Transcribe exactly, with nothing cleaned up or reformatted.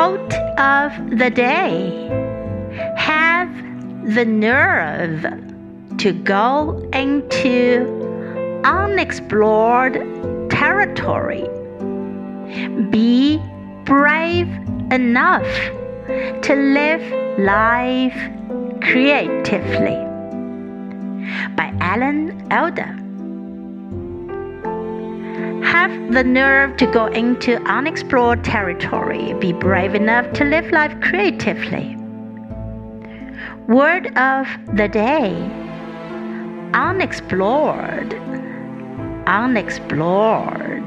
Quote of the day: have the nerve to go into unexplored territory. Be brave enough to live life creatively. By Alan Alda. Have the nerve to go into unexplored territory. Be brave enough to live life creatively. Word of the day: unexplored. Unexplored.